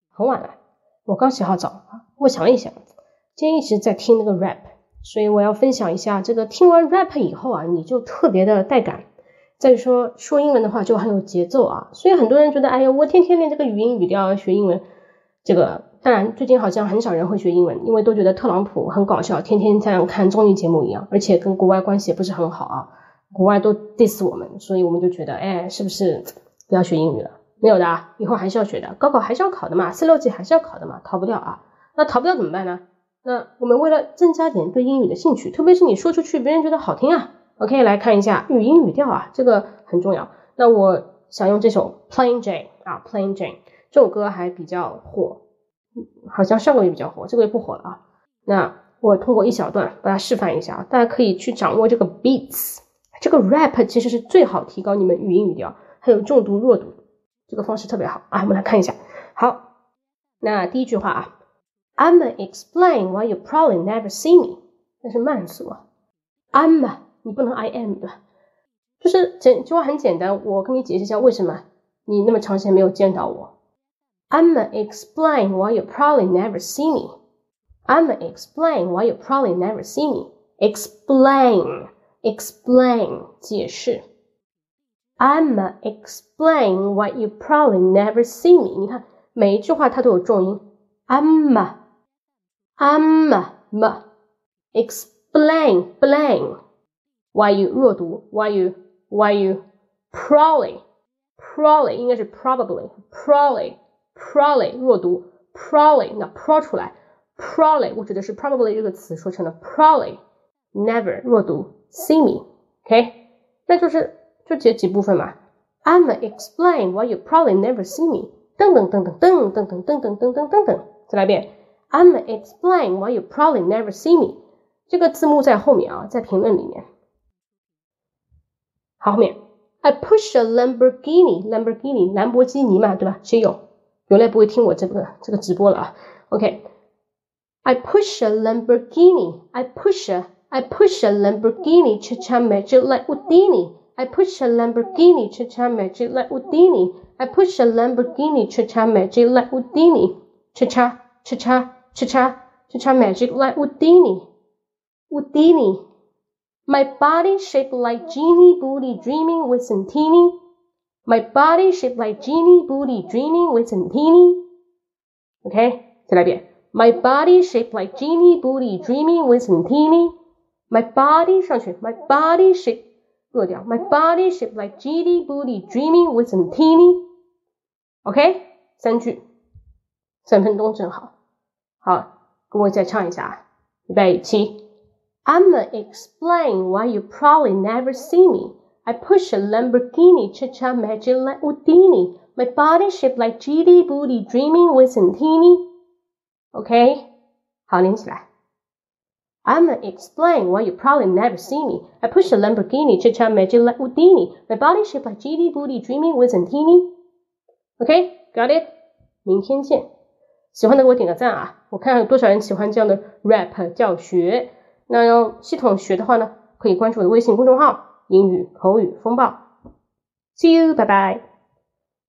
很晚了，我刚洗好澡，我想了一想，今天一直在听那个 rap， 所以我要分享一下这个听完 rap 以后啊，你就特别的带感。再说英文的话就很有节奏啊，所以很多人觉得哎呀，我天天练这个语音语调学英文，这个当然最近好像很少人会学英文，因为都觉得特朗普很搞笑，天天像看综艺节目一样，而且跟国外关系也不是很好啊，国外都 diss 我们，所以我们就觉得哎，是不是不要学英语了？没有的啊，以后还是要学的，高考还是要考的嘛，4、6级还是要考的嘛，逃不掉啊。那逃不掉怎么办呢？那我们为了增加点对英语的兴趣，特别是你说出去别人觉得好听啊， OK， 来看一下语音语调啊，这个很重要。那我想用这首 Plain Jane 啊 Plain Jane 这首歌还比较火，好像上个月比较火，这个月不火了啊。那我通过一小段把它示范一下啊，大家可以去掌握这个 beats， 这个 rap 其实是最好提高你们语音语调还有重读弱读，这个方式特别好啊。我们来看一下，好，那第一句话啊， I'ma explain why you probably never see me， 那是慢速啊， I'ma 你不能 I am 对吧？就是这句话很简单，我跟你解释一下为什么你那么长时间没有见到我。I'ma explain why you probably never see me. I'ma explain why you probably never see me. Explain 解释。I'ma explain why you probably never see me. 你看每一句话它都有重音。I'ma explain why you 弱读 why you probably 应该是 probably 弱读 probably 那 pro 出来 probably 我指的是 probably 这个词说成了 probably never 弱读 see me OK 那就这几部分嘛 I'ma explain why you probably never see me 等等再来一遍 I'ma explain why you probably never see me 这个字幕在后面啊，在评论里面好，后面 I push a Lamborghini 兰博基尼嘛，对吧？谁有来不会听我这个直播了啊 OK I push a Lamborghini I push a Lamborghini Cha-cha magic like Houdini I push a Lamborghini Cha-cha magic like Houdini I push a Lamborghini Cha-cha magic like Houdini Cha-cha magic like Houdini My body shaped like genie booty dreaming with Santini. My body shaped like genie booty dreaming with Santini. OK, 再来一遍 My body shaped like genie booty dreaming with Santini. My body 上去 My body shaped 弱掉 My body shaped like genie booty dreaming with Santini. OK, 3句3分钟正好。好，跟我再唱一下啊，预备起。I'ma explain why you probably never see me. I push a Lamborghini Cha-cha magic like Houdini. My body shaped like GD booty dreaming with Santini. OK? 好，连起来。I'ma explain why you probably never see me. I push a Lamborghini Cha-cha magic like Houdini. My body shaped like GD booty dreaming with Santini. OK? Got it? 明天见。喜欢的给我点个赞啊！我看看有多少人喜欢这样的 rap 教学。那要系统学的话呢，可以关注我的微信公众号英语口语风暴 See you， 拜拜。